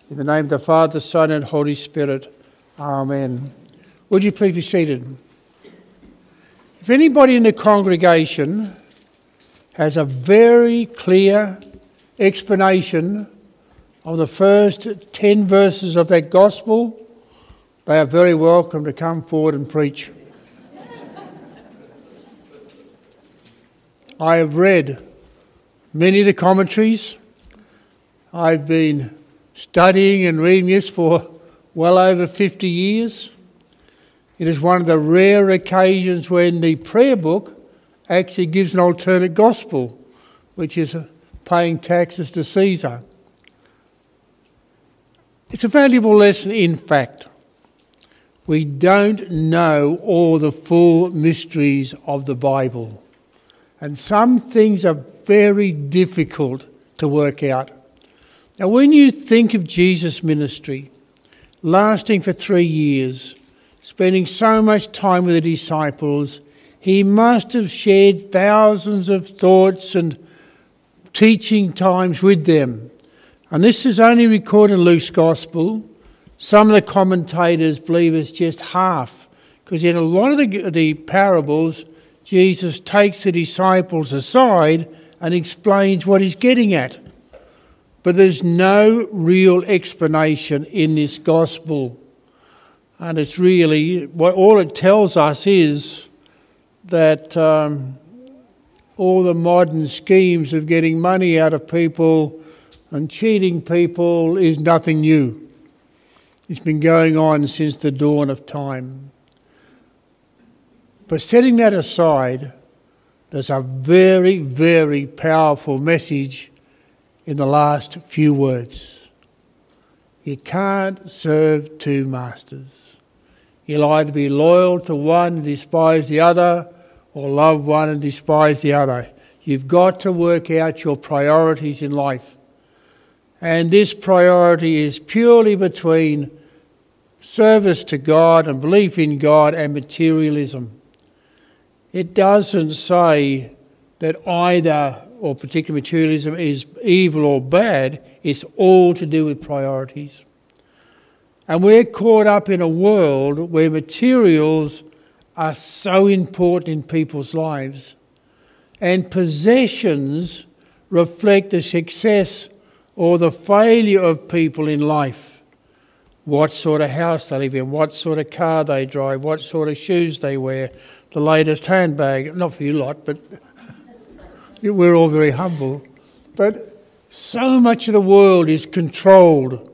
In the name of the Father, Son and Holy Spirit. Amen. Would you please be seated? If anybody in the congregation has a very clear explanation of the first 10 verses of that gospel, they are very welcome to come forward and preach. I have read many of the commentaries. I've been studying and reading this for well over 50 years. It is one of the rare occasions when the prayer book actually gives an alternate gospel, which is paying taxes to Caesar. It's a valuable lesson in fact. We don't know all the full mysteries of the Bible, and some things are very difficult to work out. Now, when you think of Jesus' ministry, lasting for 3 years, spending so much time with the disciples, he must have shared thousands of thoughts and teaching times with them. And this is only recorded in Luke's Gospel. Some of the commentators believe it's just half, because in a lot of the parables, Jesus takes the disciples aside and explains what he's getting at. But there's no real explanation in this gospel. And it's really, all it tells us is that all the modern schemes of getting money out of people and cheating people is nothing new. It's been going on since the dawn of time. But setting that aside, there's a very, very powerful message in the last few words. You can't serve two masters. You'll either be loyal to one and despise the other, or love one and despise the other. You've got to work out your priorities in life. And this priority is purely between service to God and belief in God and materialism. It doesn't say that either or particular materialism is evil or bad. It's all to do with priorities. And we're caught up in a world where materials are so important in people's lives, and possessions reflect the success or the failure of people in life. What sort of house they live in, what sort of car they drive, what sort of shoes they wear, the latest handbag. Not for you lot, but we're all very humble. But so much of the world is controlled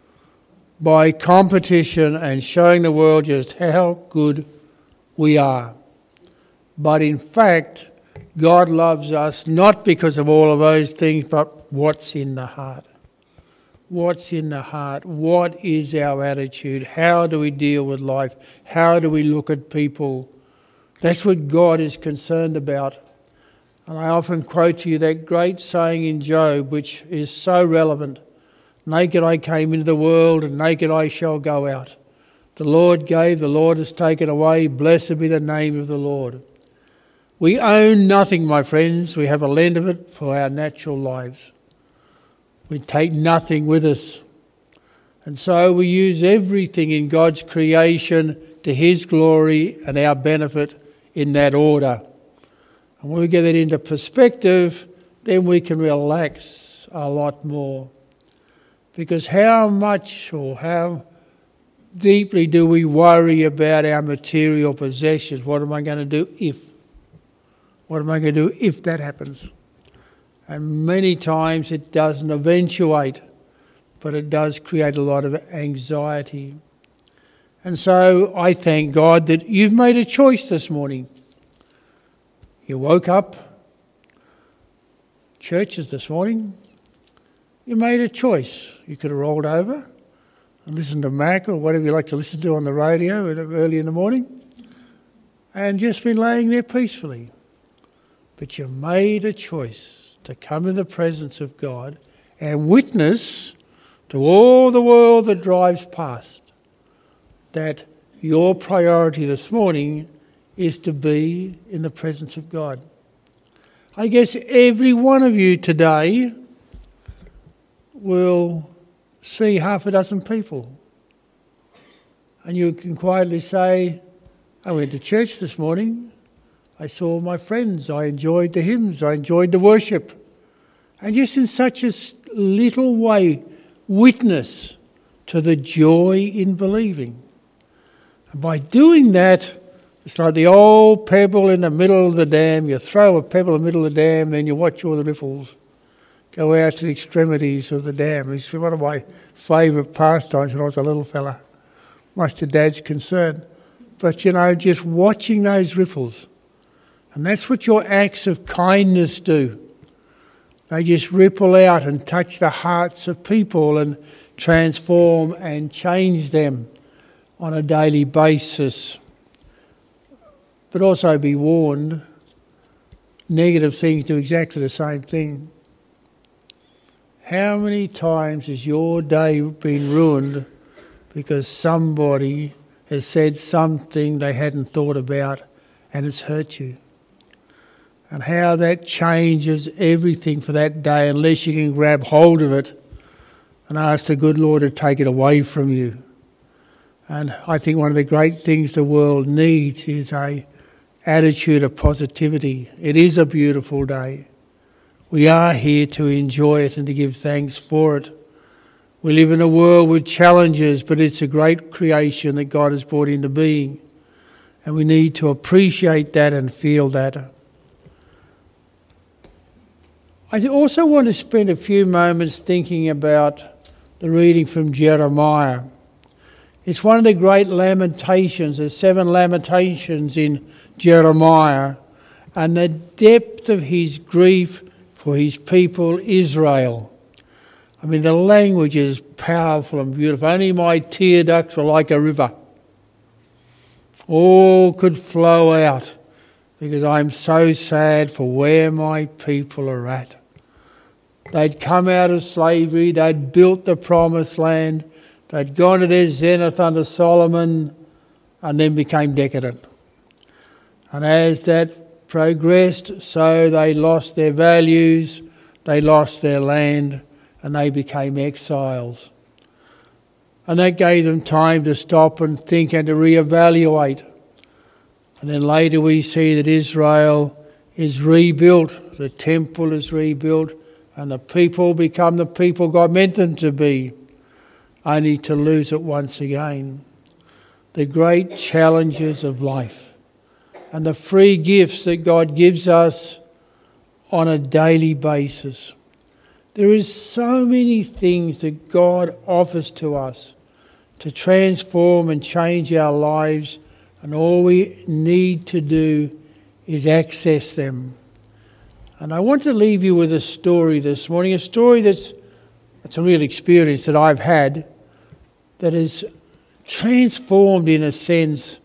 by competition and showing the world just how good we are. But in fact, God loves us not because of all of those things, but what's in the heart. What's in the heart? What is our attitude? How do we deal with life? How do we look at people? That's what God is concerned about. And I often quote to you that great saying in Job, which is so relevant. Naked I came into the world, and naked I shall go out. The Lord gave, the Lord has taken away. Blessed be the name of the Lord. We own nothing, my friends. We have a lend of it for our natural lives. We take nothing with us. And so we use everything in God's creation to his glory and our benefit in that order. And when we get that into perspective, then we can relax a lot more. Because how much or how deeply do we worry about our material possessions? What am I going to do if? What am I going to do if that happens? And many times it doesn't eventuate, but it does create a lot of anxiety. And so I thank God that you've made a choice this morning. You woke up, churches this morning, you made a choice. You could have rolled over and listened to Mac or whatever you like to listen to on the radio early in the morning and just been laying there peacefully. But you made a choice to come in the presence of God and witness to all the world that drives past that your priority this morning is to be in the presence of God. I guess every one of you today will see half a dozen people. And you can quietly say, I went to church this morning, I saw my friends, I enjoyed the hymns, I enjoyed the worship. And just in such a little way, witness to the joy in believing. And by doing that, it's like the old pebble in the middle of the dam. You throw a pebble in the middle of the dam, then you watch all the ripples go out to the extremities of the dam. It's one of my favourite pastimes when I was a little fella, much to Dad's concern. But, just watching those ripples. And that's what your acts of kindness do. They just ripple out and touch the hearts of people and transform and change them on a daily basis. But also be warned, negative things do exactly the same thing. How many times has your day been ruined because somebody has said something they hadn't thought about and it's hurt you? And how that changes everything for that day unless you can grab hold of it and ask the good Lord to take it away from you. And I think one of the great things the world needs is a attitude of positivity. It is a beautiful day. We are here to enjoy it and to give thanks for it. We live in a world with challenges, but it's a great creation that God has brought into being. And we need to appreciate that and feel that. I also want to spend a few moments thinking about the reading from Jeremiah. It's one of the great lamentations. There's 7 lamentations in Jeremiah, and the depth of his grief for his people Israel. I mean, the language is powerful and beautiful. Only my tear ducts were like a river. All could flow out because I'm so sad for where my people are at. They'd come out of slavery, they'd built the promised land, they'd gone to their zenith under Solomon and then became decadent. And as that progressed, so they lost their values, they lost their land, and they became exiles. And that gave them time to stop and think and to reevaluate. And then later we see that Israel is rebuilt, the temple is rebuilt, and the people become the people God meant them to be, only to lose it once again. The great challenges of life and the free gifts that God gives us on a daily basis. There is so many things that God offers to us to transform and change our lives, and all we need to do is access them. And I want to leave you with a story this morning, a story that's a real experience that I've had that is transformed in a sense.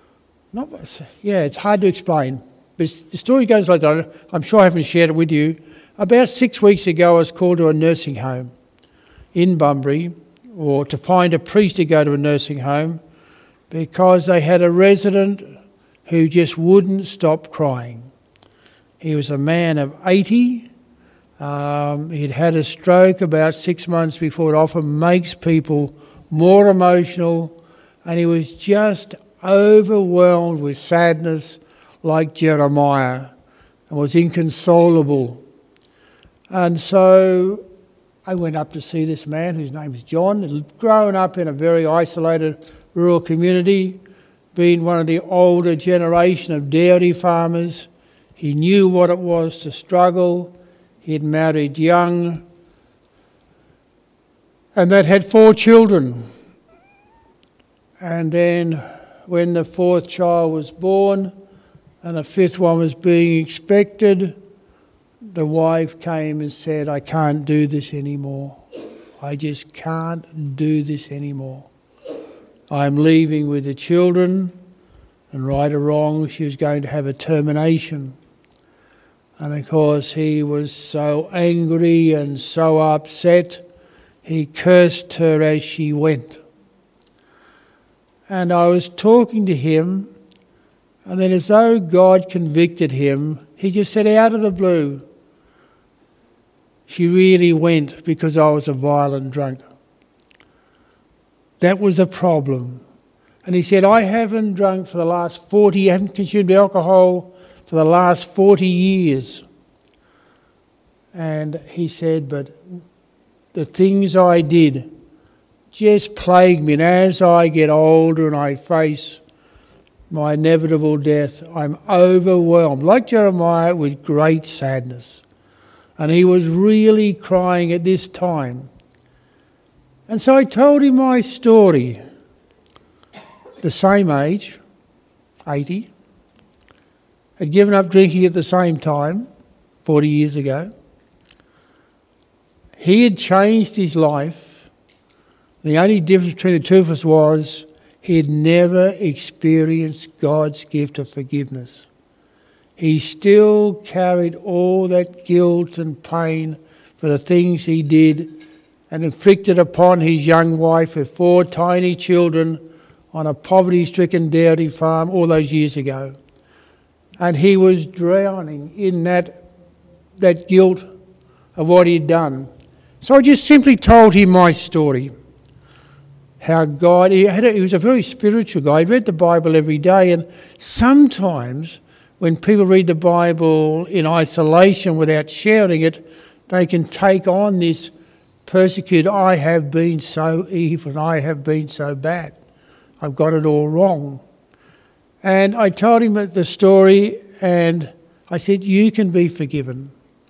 It's hard to explain. But the story goes like that. I'm sure I haven't shared it with you. About 6 weeks ago, I was called to a nursing home in Bunbury, or to find a priest to go to a nursing home, because they had a resident who just wouldn't stop crying. He was a man of 80. He'd had a stroke about 6 months before. It often makes people more emotional, and he was just overwhelmed with sadness like Jeremiah and was inconsolable. And so I went up to see this man whose name is John. He'd grown up in a very isolated rural community, being one of the older generation of dairy farmers. He knew what it was to struggle. He'd married young and they'd had 4 children. And then when the 4th child was born and the 5th one was being expected, the wife came and said, I can't do this anymore. I just can't do this anymore. I'm leaving with the children, and right or wrong, she was going to have a termination. And of course, he was so angry and so upset, he cursed her as she went. And I was talking to him, and then as though God convicted him, he just said out of the blue, she really went because I was a violent drunk. That was a problem. And he said, I haven't drunk for the last 40, I haven't consumed alcohol for the last 40 years. And he said, but the things I did just plague me. And as I get older and I face my inevitable death, I'm overwhelmed, like Jeremiah, with great sadness. And he was really crying at this time. And so I told him my story. The same age, 80, had given up drinking at the same time, 40 years ago. He had changed his life. The only difference between the two of us was he had never experienced God's gift of forgiveness. He still carried all that guilt and pain for the things he did and inflicted upon his young wife with 4 tiny children on a poverty-stricken dairy farm all those years ago. And he was drowning in that guilt of what he'd done. So I just simply told him my story. How God, he was a very spiritual guy. He read the Bible every day, and sometimes when people read the Bible in isolation without sharing it, they can take on this persecuted, I have been so evil and I have been so bad. I've got it all wrong. And I told him the story, and I said, you can be forgiven.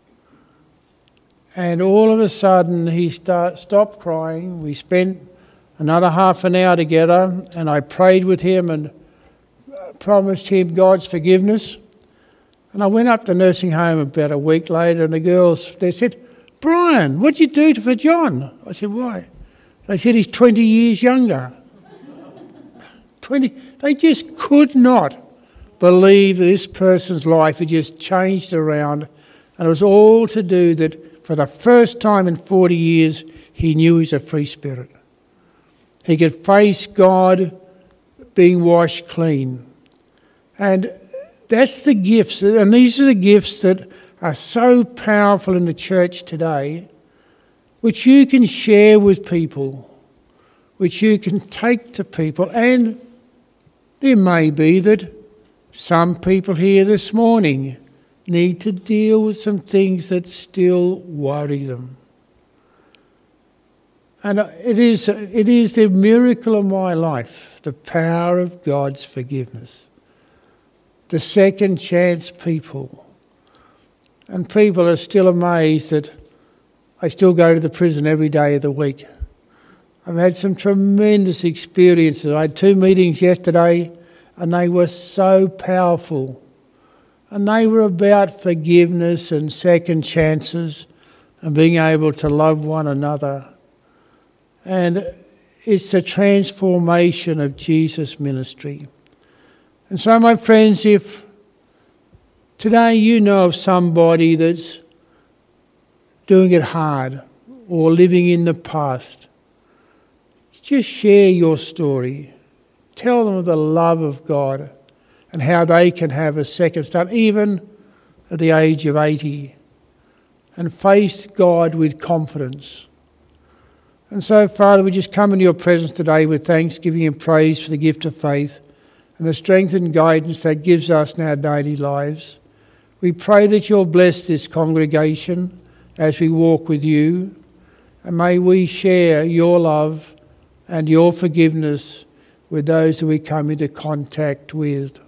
And all of a sudden he stopped crying. We spent another half an hour together, and I prayed with him and promised him God's forgiveness. And I went up to the nursing home about a week later, and the girls, they said, Brian, what'd you do for John? I said, why? They said he's 20 years younger. 20. They just could not believe that this person's life had just changed around, and it was all to do that for the first time in 40 years, he knew he's a free spirit. He could face God being washed clean. And that's the gifts, and these are the gifts that are so powerful in the church today, which you can share with people, which you can take to people. And there may be that some people here this morning need to deal with some things that still worry them. And it is the miracle of my life, the power of God's forgiveness. The second chance people. And people are still amazed that I still go to the prison every day of the week. I've had some tremendous experiences. I had 2 meetings yesterday, and they were so powerful. And they were about forgiveness and second chances and being able to love one another. And it's the transformation of Jesus' ministry. And so, my friends, if today you know of somebody that's doing it hard or living in the past, just share your story. Tell them of the love of God and how they can have a second start, even at the age of 80, and face God with confidence. And so, Father, we just come into your presence today with thanksgiving and praise for the gift of faith and the strength and guidance that gives us in our daily lives. We pray that you'll bless this congregation as we walk with you, and may we share your love and your forgiveness with those that we come into contact with.